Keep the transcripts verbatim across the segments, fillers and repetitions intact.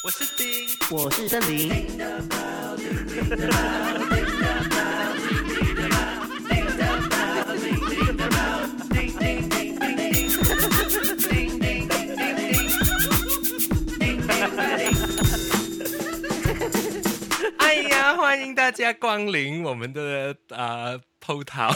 我是丁， 我是森林。 哎呀，欢迎大家光临我们的呃PO桃，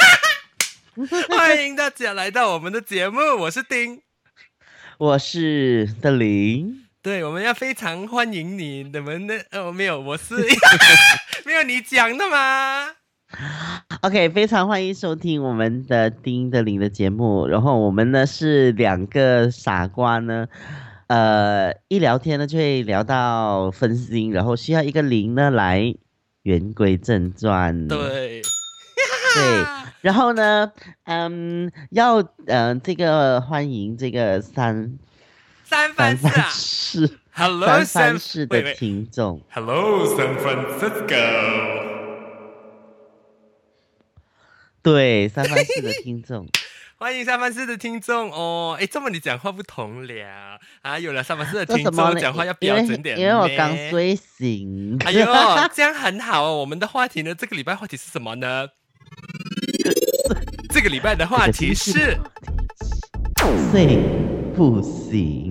欢迎大家来到我们的节目，我是丁， 我是森林。 对，我们要非常欢迎你，你们的呃没有，我是没有你讲的吗 OK， 非常欢迎收听我们的丁的林的节目。然后我们呢是两个傻瓜呢，呃，一聊天呢就会聊到分心，然后需要一个林呢来言归正传。 对， 对，然后呢，嗯，要呃这个欢迎这个三三藩市啊市 ，Hello 三藩三市的听众。 Hello San Francisco。 对，三藩市的听众。 欢迎三藩市的听众哦！哎，这么你讲话不同了啊！有了三藩市的听说什么呢？ 众讲话要标准点因为因为我咩刚睡醒。 哎呦，这样很好哦！我们的话题呢，这个礼拜话题是什么呢？这个礼拜的话题是睡不醒。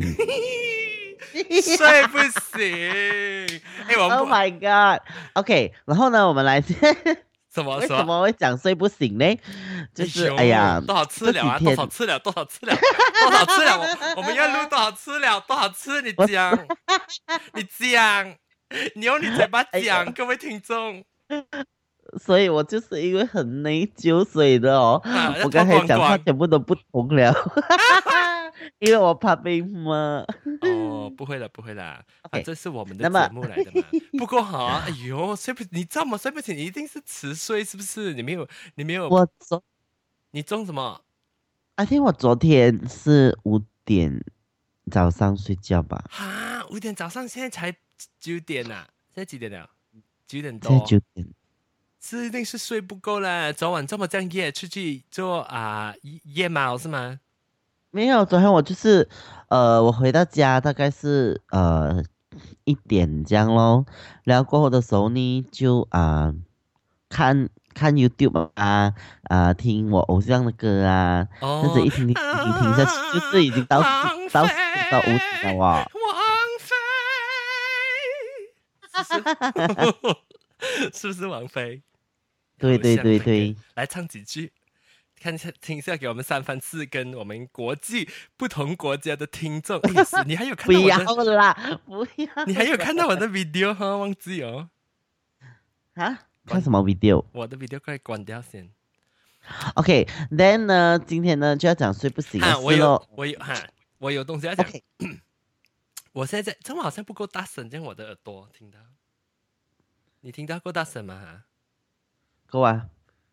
睡不醒。哎，我们 Oh my god！OK， 然后呢，我们来什么为什么会讲睡不醒呢？就是哎呀， 多少次了啊？多少次了？多少次了？多少次了？我我们要录多少次了？多少次？你讲，你讲，你用你嘴巴讲，各位听众。 所以我就是因为很内疚，所以的哦， 啊、 我刚才讲话全部都不同了，因为我怕被骂。 哦，不会了，不会啦，反正是我们的节目来的嘛。不过好、啊，哎呦，睡不，你知道吗？睡不醒，你一定是迟睡，是不是？你没有，你没有， 我昨， 你中什么？ I think 我昨天是五点早上睡觉吧。 哈，五点早上，现在才九点呐、啊，现在几点了？九点多。 现在九点。 是一定是睡不够了，昨晚这么这样夜出去做啊、呃、夜猫是吗？ 没有，昨天我就是呃，我回到家大概是呃一点这样咯，然后过后的时候呢就啊、呃、看看 YouTube 啊啊、呃、听我偶像的歌啊，这样子一听听听听下去，就是已经到四到四到五点了哇。 王菲，是不是王菲？ 对对对对， 来唱几句，看一下听一下，给我们三藩市跟我们国际不同国家的听众。哎，你还有看到我的？ 不要啦，不要。 你还有看到我的 video 哈？忘记哦。 啊？看什么 video？ 我的 video 快关掉先。 OK，then、okay, 呢，今天呢就要讲睡不醒的事我有我有哈，我有东西要讲。Okay. 我现在这么好像不够大声，这样我的耳朵听到。你听到够大声吗？哈？ 够啊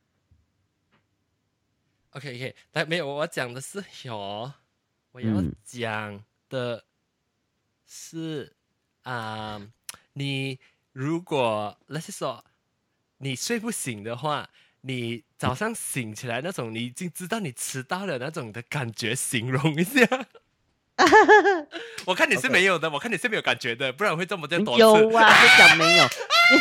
，OK OK， 来没有，我讲的是有，我要讲的是啊、嗯呃，你如果那是说你睡不醒的话，你早上醒起来那种，你已经知道你迟到了那种的感觉，形容一下。我看你是没有的， okay. 我看你是没有感觉的，不然会这么多次。 有啊，不讲没有。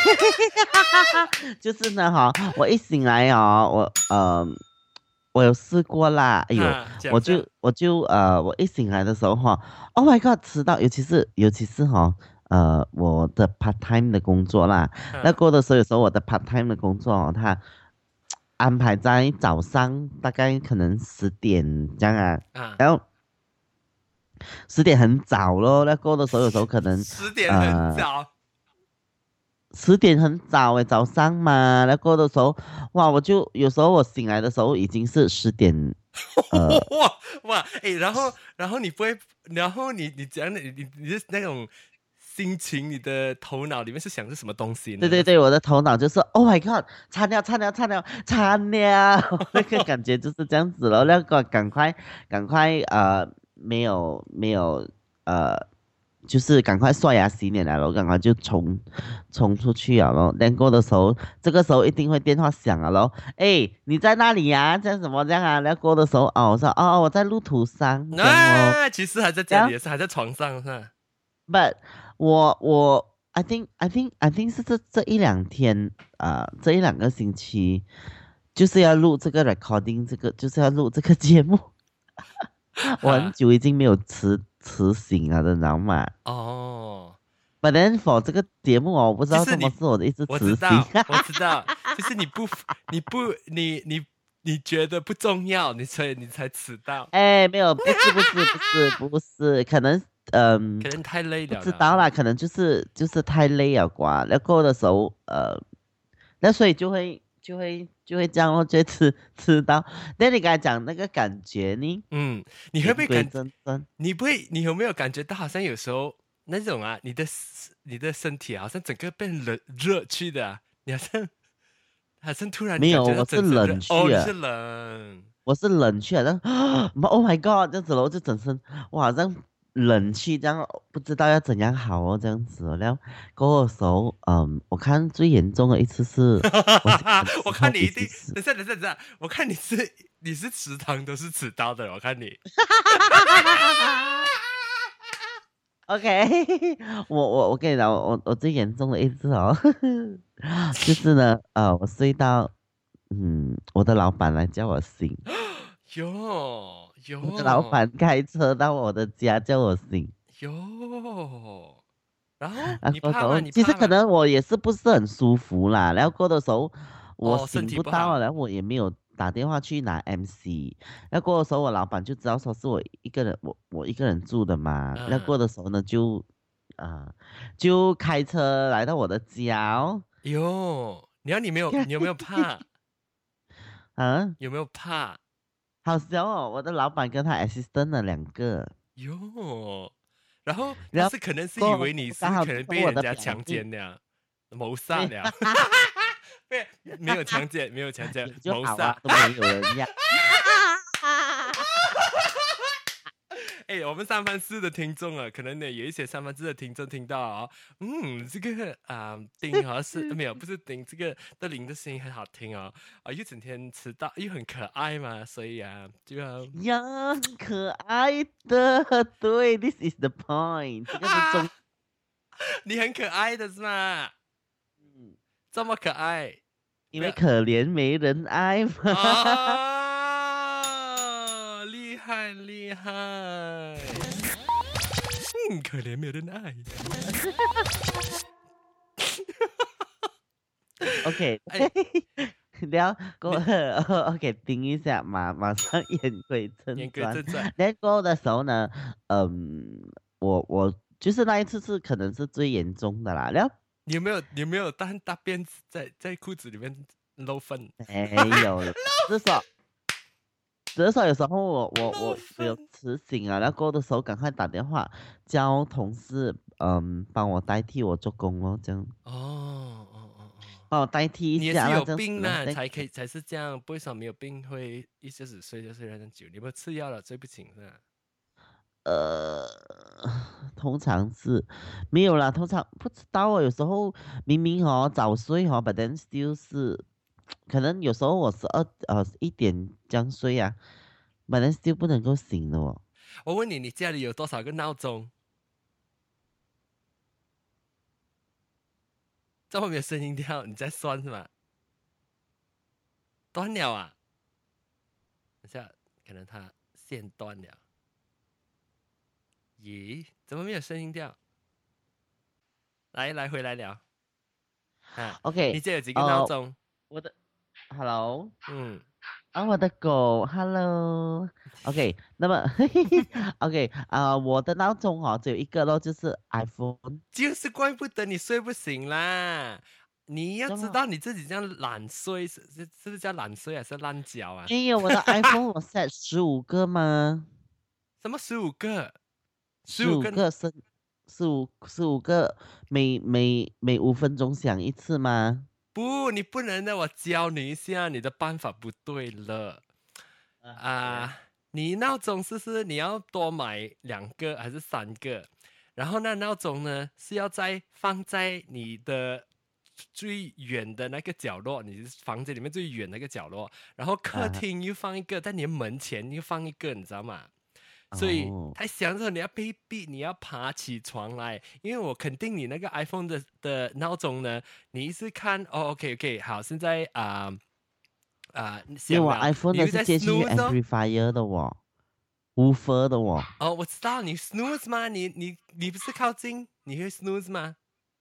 就是呢哈，我一醒来哦，我呃，我有试过啦。哎呦，我就我就呃，我一醒来的时候哈 ，Oh my god， 迟到，尤其是尤其是哈，呃，我的 part time 的工作啦。那过的时候，有时候我的 part time 的工作哦，它安排在早上，大概可能十点这样啊， 啊然后。十点很早咯，那过的时候有时候可能十点很早， 十、呃、点很早诶，早上嘛，那过的时候，哇，我就有时候我醒来的时候已经是十点，呃， 哇哇，哎，然后然后你不会，然后你你讲你你你是那种心情，你的头脑里面是想是什么东西呢？ 对对对，我的头脑就是 ，Oh my god， 差了差了差了差了，那个感觉就是这样子了，那个赶快赶快呃。没有没有呃，就是赶快刷牙洗脸来了，赶快就冲冲出去了咯。练过的时候，这个时候一定会电话响了咯。哎，你在那里呀、啊？这样怎么这样啊？练过的时候哦，我说哦，我在路途上。 啊，其实还在家里，也是还在床上是吧？ But 我我 I think I think I think 是这这一两天啊、呃这一两个星期就是要录这个 recording，这个就是要录这个节目。我很哈久已经没有吃吃醒了的，你知道吗哦， ？But then for 这个节目哦，我不知道就是你， 什么是我的一直我吃醒。 知道，我知道，就是你不，你不，你你你觉得不重要，你所以你才迟到， 哎，没有，不是不是不是不是，可能嗯、 可能太累不了啦。 知道啦，可能就是就是太累了啩，然后的时候呃，那所以就会就会就会这样咯，就会吃吃到。那你刚才讲那个感觉呢？ 嗯，你会不言归会感， 正传， 你不会，你有没有感觉到好像有时候那种啊，你的你的身体好像整个变冷热去的啊，你好像好像突然没有， 感觉到我是整身热哦， 冷去了。 你是冷我是冷却的，Oh my God，这样子咯，就整身我好像冷气这样，不知道要怎样好哦，这样子哦。然后过后的时候，嗯，我看最严重的一次是我醒的我时候已看你一定， 经是， 等下等下等下，我看你是你是食堂都是迟到的，我看你。 OK，我我我跟你讲，我我最严重的一次哦，就是呢，呃，我睡到，嗯，我的老板来叫我醒， 哟我的老哟板开车到我的家叫我醒。 哟，然后然你怕吗？ 后时候其实你怕吗？ 可能我也是不是很舒服啦，然后过的时候我哦，身醒不到啊， 体不好。 然后我也没有打电话去拿 M C，然后过的时候我老板就知道说是我一个人，我我一个人住的嘛，然后嗯， 过的时候呢就啊、就开车来到我的家哦， 哟，你要你没有，你有没有怕？ 啊， 有没有怕？ 好笑哦，我的老板跟他 assistant 的两个， 哟，然后他然后是可能是以过后为你刚是可能被好就是我的人家强表妹， 奸了，谋杀没了。没没有强奸，没有强奸， 有就好啊， 谋杀。 都没有人要。 哎，我们三藩市的听众啊，可能呢有一些三藩市的听众听到哦，嗯，这个啊、丁好像是没有，不是丁，这个德林的声音很好听哦，啊，又整天迟到，又很可爱嘛，所以啊，就要呀，可爱的，对，this is the point，这个是啊， 重， 你很可爱的是吗？ 嗯， 这么可爱，不要因为可怜没人爱嘛。 啊，厉害厉害，嗯，可怜没有人爱， OK， 哎， 然后过你后，OK，盯一下，马马上言归正言归传。 正传。 然后过后的时候呢，嗯，我我就是那一次是可能是最严重的啦。然后你有没有你有没有大大便在在裤子里面漏粪？ 没有了，至少至少有时候我我漏我我有粪迟醒啊，然后过后的时候赶快打电话叫同事，嗯，帮我代替我做工哦，这样哦哦哦哦， 帮我代替一下啦， 你也是有这样子咯。 病呢， 那才可以才是这样。为什么没有病会一下子睡就睡得很久？你有没有吃药了？睡不醒是吧？ 呃，通常是没有啦，通常不知道哦。有时候明明哦早睡哦，but then still 是，可能有时候我十二呃一点这样睡啊，but then still 不能够醒的哦。 我问你，你家里有多少个闹钟？这么没有声音跳，你在算是吗？断了啊！等下可能它线断了。咦，怎么没有声音调？来来回来聊啊！你 OK， 家有几个闹呃， 钟？ 我的 Hello。 嗯， 啊，我的狗，Hello，OK，那么，OK，啊、我的闹钟哦，只有一个咯，就是 iPhone， 就是怪不得你睡不醒啦。你要这么知道你自己这样懒睡是是是不是叫懒睡还是烂脚啊？ 没有我的 iPhone 我 set 十五个吗？ 什么十五个？十十五五个？ 个是十五十五个，每每每五分钟响一次吗？ 不，你不能的，我教你一下，你的办法不对了啊，怎样？ 啊！你闹钟是不是你要多买两个还是三个？然后那闹钟呢是要在放在你的最远的那个角落，你房间里面最远那个角落，然后客啊， 厅又放一个，在你的门前又放一个，你知道吗？ 所以哦， 他想着你要被逼，你要爬起床来，因为我肯定你那个 iPhone 的的闹钟呢，你一直看哦，OK OK，好，现在啊啊、呃、 因为我响了， iPhone 的你又在是接进去 snooze 哦， amplifier 的哦，woofer 的哦哦，我知道你 snooze 吗？你你你不是靠近，你会 snooze 吗？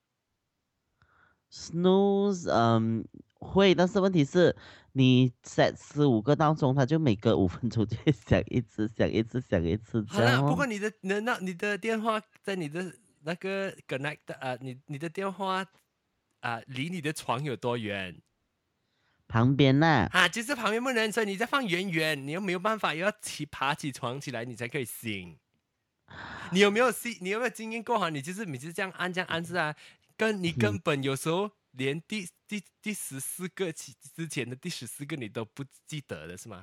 ，snooze，嗯，会，但是问题是，你 set 十五个闹钟，它就每隔五分钟就会响一次，响一次，响一次， 好了，不这样哦。 过你的你的那你的电话在你的那个 connect 的啊、呃，你你的电话啊、呃，离你的床有多远？ 旁边呐、 啊，就是旁边不能，所以你再放远远，你又没有办法，又要起爬起床起来，你才可以醒。你有没有经你有没有经验过哈？你就是每次这样按这样按是啊，跟你根嗯， 本有时候连第第第十四个起之前的第十四个你都不记得的是吗？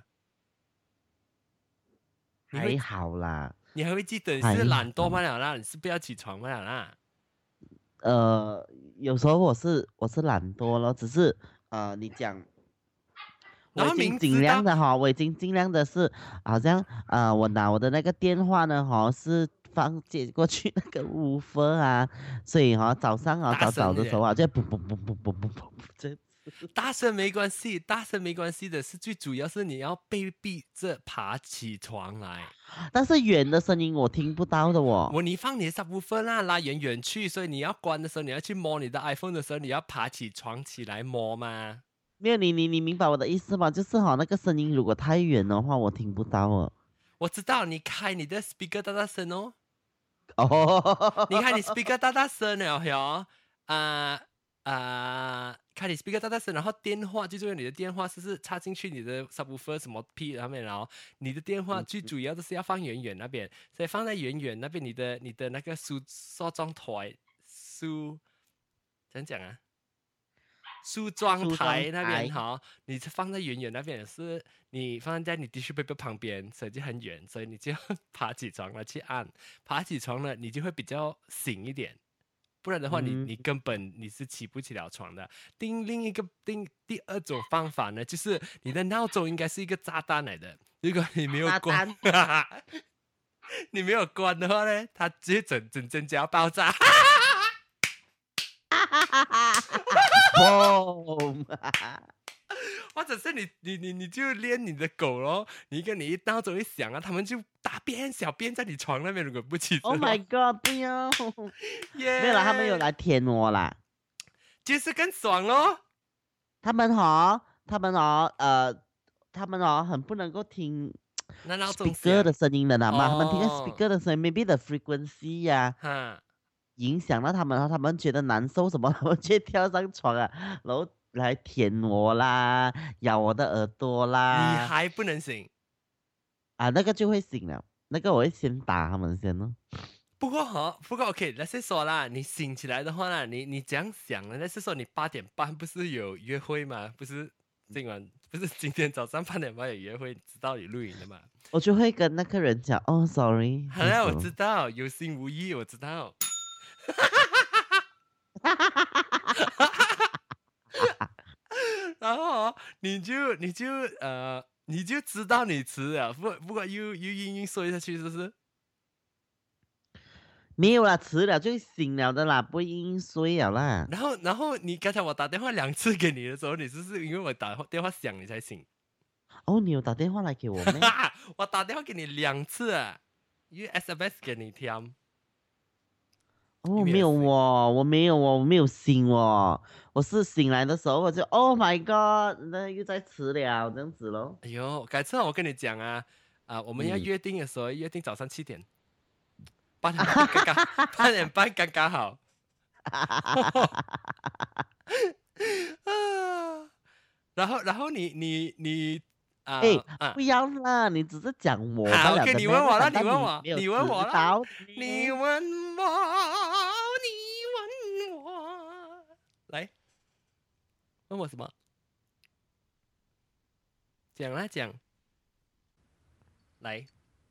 你会还好啦， 你还会记得你还是懒惰好。 吗了啦？你是不要起床吗了啦？ 呃，有时候我是我是懒惰了，只是呃，你讲然后我已经尽明知道量的哈，我已经尽量的是，好像呃，我拿我的那个电话呢哈，是放接过去那个 woofer 啊，所以哈早上啊大早早声一点， 的时候啊，就嘣嘣嘣嘣嘣嘣嘣这， 大声没关系，大声没关系的是最主要是你要被逼着爬起床来。 但是远的声音我听不到的哦。 我你放你的 subwoofer 啦，拉远远去，所以你要关的时候，你要去摸你的 iPhone 的时候，你要爬起床起来摸吗？ 没有你你你明白我的意思吗？就是哈那个声音如果太远的话，我听不到哦。 我知道你开你的 speaker 大大声哦，你看你哦， speaker 大大声了哟，啊啊，开你 speaker 大大声，然后电话最重要，你的电话是不是插进去你的 subwoofer 什么屁上面，然后你的电话最主要的是要放远远那边，所以放在远远那边，你的你的那个梳梳妆台梳怎样讲啊？梳妆梳妆台那边台。 哈，你放在远远那边是，你放在你 tissue paper 旁边，所以就很远，所以你就要爬起床了去按，爬起床了你就会比较醒一点，不然的话你嗯， 你根本你是起不起了床的。另另一个另第二种方法呢，就是你的闹钟应该是一个炸弹来的，如果你没有关， 炸弹。 你没有关的话呢，它直接整整整就要爆炸。 boom！ 或者是你你你你就练你的狗咯，你跟你一闹钟一响啊，他们就大便小便在你床那边，如果不起 Oh 身 my 哦， god！不要，没有啦，他们有耶， 来舔我啦。 就是更爽咯。 他们哦，他们哦，呃，他们哦，很不能够听那闹钟 speaker 的响声音的啦嘛。他们听到哦， speaker 的声音，maybe the frequency 呀、 哈， 影响到他们，然后他们觉得难受什么，他们就跳上床啊，然后来舔我啦，咬我的耳朵啦， 你还不能醒。 啊，那个就会醒了，那个我会先打他们先哦。 不过哈，不过 OK，那是说啦，你醒起来的话呢，你你这样想呢？那是说你八点半不是有约会吗？不是今晚不是今天早上八点半有约会，知道你录影的嘛？ 我就会跟那个人讲，哦，sorry， 好了，我这样子咯。 知道，有心无意，我知道。然后哦你就你就呃，你就知道你迟了，不不过又又硬硬说下去，是不是？ 没有啦，迟了就醒了的啦，不会硬硬睡了啦。 然后然后你刚才我打电话两次给你的时候，你是不是因为我打电话响你才醒？ 哦，你有打电话来给我咩？ 我打电话给你两次啊，因为 S M S 给你听，你哦，没有没有醒。 哦，我没有哦，我没有醒哦，我是醒来的时候我就 Oh my God，那又在迟了这样子咯。 哎呦，改次我跟你讲啊，啊、我们要嗯， 约定的时候约定早上七点，八点半刚刚，八点半刚刚好。啊，然后然后你你你啊哎， 啊， 不要啦，你只是讲我罢好，OK， 了的咩？ 你问我了， 那难道你问我， 你没有你问我了， 知道你咩？ 问我，你问我，来问我什么？讲啦讲，来，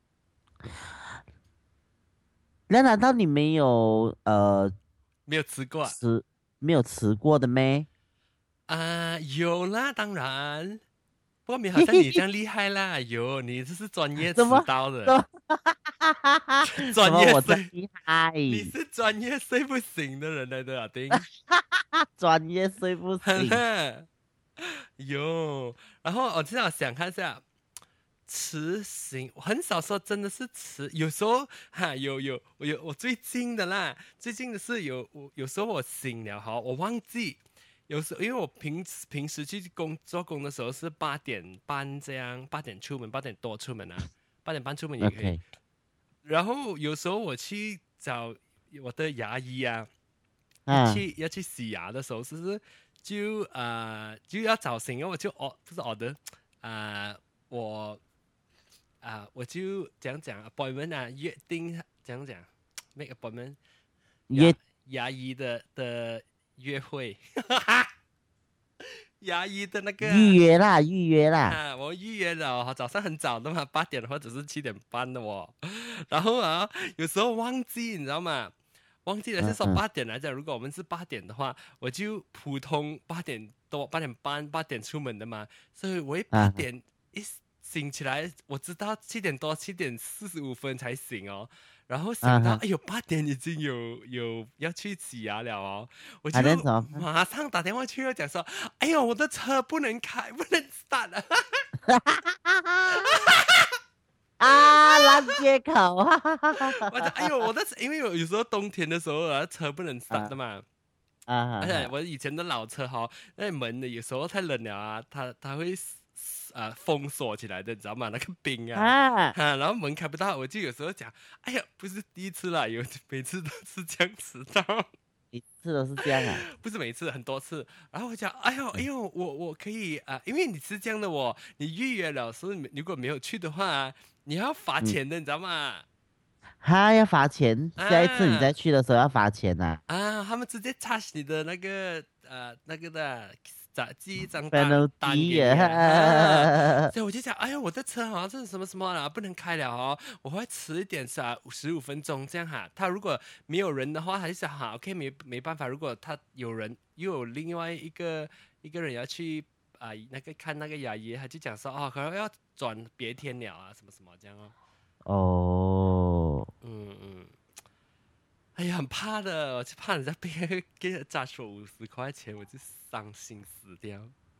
那难道你没有呃没有吃过啊？ 吃没有吃过的咩？ 啊有啦，当然， 不过没好像你这样厉害啦，有你这是专业迟怎么到的， 怎么怎专么我这样业睡， 厉害？ 你是专业睡不醒的人来的啊，丁， 专业睡不很醒。 啦，有。然后我至少想看一下。迟醒，我很少说真的是迟，有时候哈有有我有我最近的啦，最近的是有我有时候我醒了哈，我忘记，有时候因为我平时平时去工做工的时候是八点半这样，八点出门，八点多出门啊，八点半出门也可以。 OK， 然后有时候我去找我的牙医啊，要啊去要去洗牙的时候，是不是就啊、呃就要早醒，然后我就哦不是哦的啊我。啊，我就讲讲 appointment 啊，约定讲讲 make appointment 牙约牙医的的约会，牙医的那个预啊， 约啦，预约啦。 啊我预约了哦，早上很早的嘛，八点或者是七点半的哦，然后啊，有时候忘记，你知道吗？忘记了是说嗯嗯八点来讲，如果我们是八点的话，我就普通八点多、八点半、八点出门的嘛，所以我一八啊点一醒起来，我知道七点多、七点四十五分才醒哦，然后想到啊哈， 哎呦八点已经有有要去洗牙了哦，我就还能怎么办？ 马上打电话去讲说，哎呦我的车不能开，不能 start 了， 啊，烂借口，哈哈哈哈我讲哎呦我的因为有有时候冬天的时候啊车不能 start 的啊嘛。 啊哈而且哈我以前的老车哈，那门的有时候太冷了啊，它它会啊、呃封锁起来的，你知道吗？那个冰啊， 啊， 哈、然后门开不到，我就有时候讲，哎呀，不是第一次啦，有每次都是这样迟到， 一次都是这样啊。 不是每次很多次。然后我讲，哎呦哎嗯呦，我我可以啊、呃因为你是这样的我，你预约了，所以如果没有去的话，你要罚嗯， 钱的，你知道吗？ 他要罚钱，下一次你再啊。 去的时候要罚钱呐、 啊，他们直接 charge 你的那个呃那个的咋记一张单单 penalty 给你啊，啊啊， 所以我就想，哎呀，我的车好像是什么什么了，不能开了哦，我会迟一点是啊，十五分钟这样哈。他如果没有人的话，他就想哈，OK 没没办法，如果他有人又有另外一个一个人要去啊、那个看那个牙医，他就讲说哦，可能要转别天了啊，什么什么这样哦， 哦， 嗯嗯。哎呀，很怕的，我就怕人家被给人家说五十块钱，我就伤心死掉。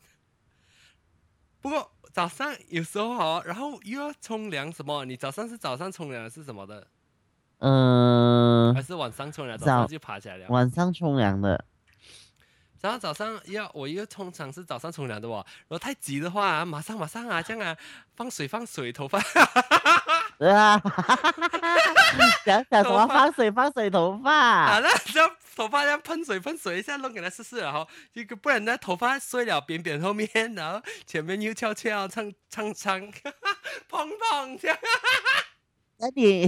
不过早上有时候哦，然后又要冲凉什么？你早上是早上冲凉是什么的？还嗯、 是晚上冲凉？早上早就爬起来了。 晚上冲凉的， 然后早上要我一个通常是早上冲凉的哦，如果太急的话、啊，马上马上啊，这样啊，放水放水，头发啊，讲讲什么头发放水放水头啊， 发， 那这样头发要喷水喷水一下，弄给它试试，然后一个不然那头发碎了扁扁后面，然后前面又翘翘长长长，蓬蓬这样。 那你，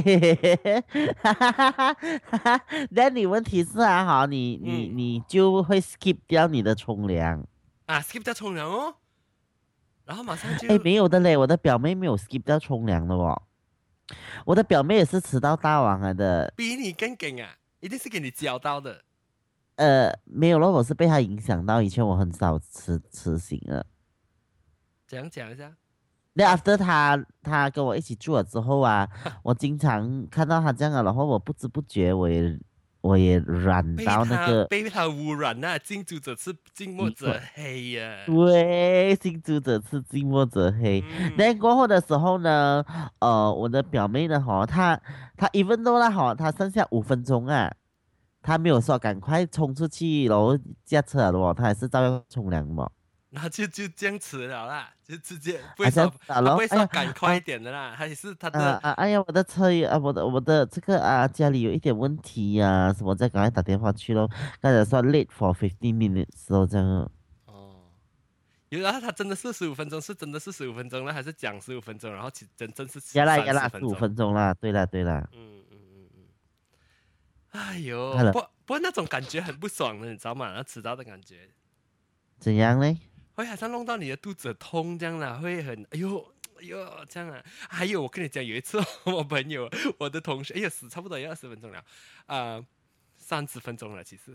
那你问题是啊，好，你你嗯你就会 skip 掉你的冲凉。 啊，skip 掉冲凉哦，然后马上就哎，没有的嘞，我的表妹没有 skip 掉冲凉的哦。我的表妹也是迟到大王来的， 比你更梗啊，一定是给你教到的。 呃，没有了，我是被她影响到。以前我很少迟迟醒了。 怎样讲一下？ 那 after 她她跟我一起住了之后啊，我经常看到她这样啊，然后我不知不觉我也我也染被到那个， 他被他污染啊，近朱者赤，近墨者黑呀、 对，近朱者赤，近墨者黑。那嗯， 过后的时候呢，呃，我的表妹呢，哈，她她 even though 啦，哈，她剩下五分钟啊，她没有说赶快冲出去，然后驾车了哦，她还是照样冲凉嘛。 然后就就这样迟了啦，就直接不啊，这样会说子啊咯， 他不会哎呀， 说赶快一啊点的啦，他也是他啊的啊，哎呀，我的车也啊，我的我的这个啊，家里有一点问题呀、什么，再赶快打电话去咯。刚才说 late for fifteen minutes 咯，这样哦。 哦，有然后他真的是十五分钟，是真的是十五分钟呢，还是讲十五分钟，然后其真正是三呀啦呀啦，十五十分钟？ 分钟啦，对啦对啦， 嗯嗯嗯嗯，哎呦， 好了， 不不过那种感觉很不爽的，你知道吗？那迟到的感觉。 怎样嘞？ 会好像弄到你的肚子痛这样啦，会很哎呦哎呦这样啊。还有我跟你讲，有一次我朋友我的同学，哎呀死差不多要二十分钟了，啊三十分钟了其实，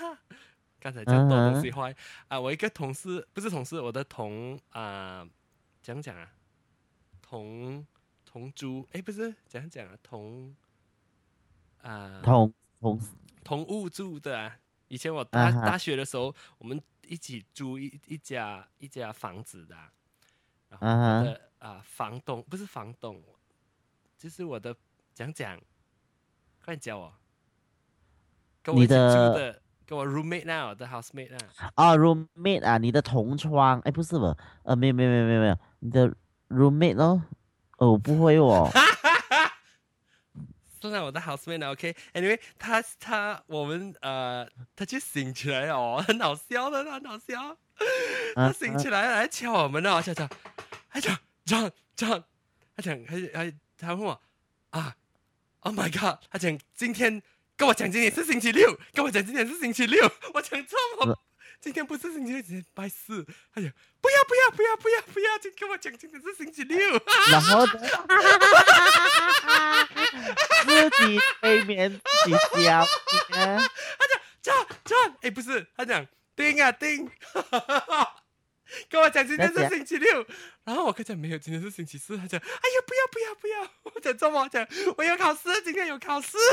刚才讲多东嗯哼， 西坏啊、我一个同事不是同事，我的同啊、 讲讲啊，同同租，哎，不是讲讲啊，同啊、呃、 同同同屋住的啊。以前我大、 啊哈大学的时候，我们一起租一一家一家房子的、啊，然后我啊哈， 的啊、呃房东不是房东，就是我的讲讲，快点教我，跟我你一起住的的，跟我 roommate 那我的 housemate 那。 哦 roommate 啊，你的同窗，哎，不是不，呃，没有没有没有没有没有，你的 roommate 哦，哦，我不会哦， 算了，我的 housemate 呢 OK，anyway，、okay? 他他我们呃，他就醒起来哦，很好笑的，很好笑。他啊啊醒起来来敲我们哦，敲敲，他讲 John John，他讲他他他问我啊 ，Oh my God，他讲今天跟我讲今天是星期六，跟我讲今天是星期六，我讲这么。今天不是星期六，今天拜四。哎呀，不要不要不要不要不要，就跟我讲今天是星期六。 然后呢，自己催眠自己笑呢， 他讲john john，哎，不是，他讲丁啊丁，跟我讲今天是星期六，然后我跟他讲没有，今天是星期四。他讲哎呀不要不要不要，我讲这么讲，我有考试，今天有考试。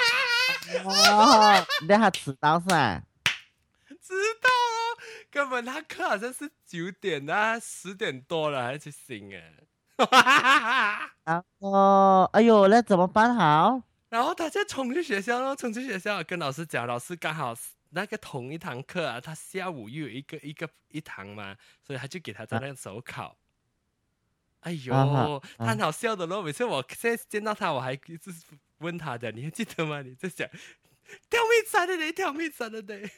哦，那他迟到是吧？ 知道哦，根本他课好像是九点啊，十点多了还去醒哎。 然后，哎呦，那怎么办好？ 然后他就冲去学校咯，冲去学校跟老师讲，老师刚好那个同一堂课啊，他下午又有一个一个一堂嘛，所以他就给他在那个手考。哎呦， 啊哈他很好笑的咯，每次我现在见到他，我还一直问他的，你还记得吗？你在讲跳蜜山的嘞，跳蜜山的嘞。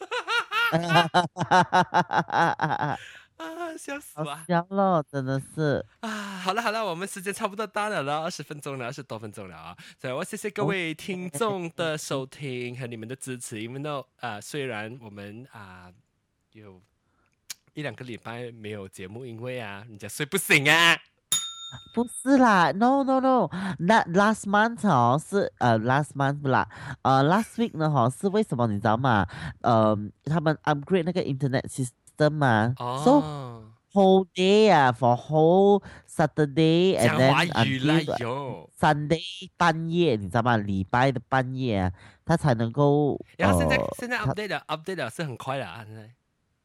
啊，笑死好我笑了，真的是。 啊！好了好了，我们时间差不多到了了，二十分钟了，二十多分钟了啊！所以我谢谢各位听众的收听和你们的支持，因为呢，啊，虽然我们啊有一两个礼拜没有节目，因为啊，人家睡不醒啊。 不是啦，no no no，那 last month 哦是呃 last month 不啦，呃 last week 呢哈是为什么你知道吗？呃，他们 upgrade 那个 internet system 嘛，so 哦， whole day 啊，for whole Saturday and 讲 then 华语啦 until 哟。 Sunday 半夜，你知道吗？礼拜的半夜啊，他才能够然后现在呃， 现在 update 了 update 了是很快的啊，现在。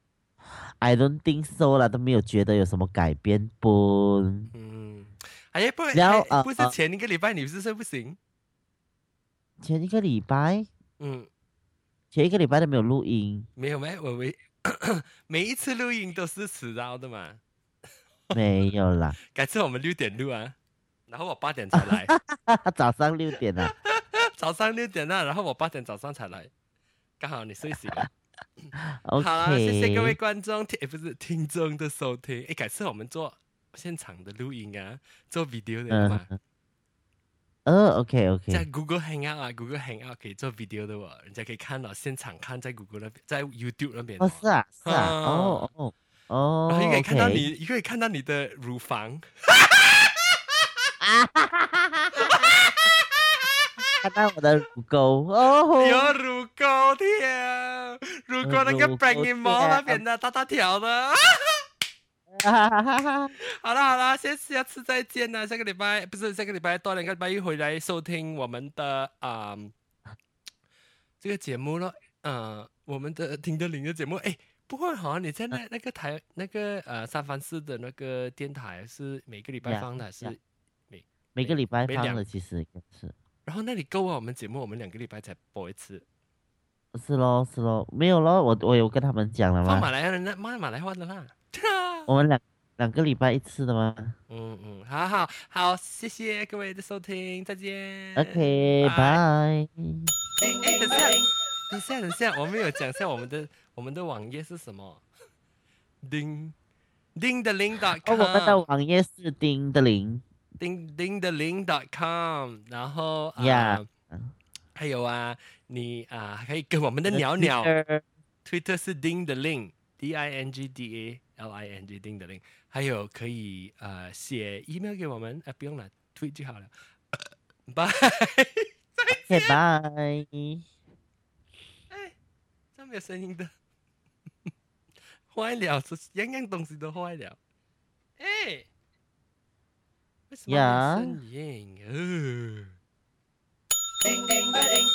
I don't think so 啦，都没有觉得有什么改变不？ 嗯，哎不然后还不是呃呃前一个礼拜你不是睡不醒？ 前一个礼拜。 嗯， 前一个礼拜都没有录音， 没有没我每每一次录音都是迟到的嘛。 没有啦， 改次我们六点录啊，然后我八点才来， 早上六点啊。 早上六点啊，然后我八点早上才来，刚好你睡醒了。 OK， 好啦，谢谢各位观众听，诶不是听众的收听。哎，改次我们做现场的录音啊，做 video 的嘛。 嗯，呃，OK 在 OK， Google Hangout 啊，Google Hangout 可以做 video 的哦，人家可以看到现场看在 Google 那边，在 YouTube 那边哦是啊是啊， 啊哦哦然后又可以哦看到 ，OK， 你，又可以看到你的乳房。 啊哈哈哈哈哈，看到我的乳沟哦， 有乳沟条，乳沟那个 b r a n i n 毛那边的大大条的。 哈哈哈哈， 好了好了，下下次再见了。下个礼拜不是下个礼拜，多两个礼拜一回来收听我们的啊、嗯、这个节目了。呃，我们的听得灵的节目。哎，不会好像你在那那个台那个呃三藩市的那个电台是每个礼拜放的，还是每每个礼拜每两？ 放的其实也是， 然后那里够啊，我们节目我们两个礼拜才播一次。 是咯是咯，没有咯，我我有跟他们讲了吗？ 放马来人那马马来话的啦。 我们两两个礼拜一次的吗嗯嗯，好好好，谢谢各位的收听，再见。 ？OK， 拜。 拜。 哎，等下，等下，等下，我们有讲一下我们的我们的网页是什么？叮叮的零 dot 哦， com， 我们的网页是丁的零叮叮的零 dot com，然后啊、 呀， 还有啊，你啊、可以跟我们的鸟鸟 Twitter ，Twitter 是叮的零 ，D I N G D A L I N G 叮的零，还有可以呃写 email 给我们，啊、不用了，推就好了，拜。 OK，拜。 哎，这没有声音的，坏了，这样样东西都坏了。 哎，为什么没有呀， 声音？呃，叮叮个叮。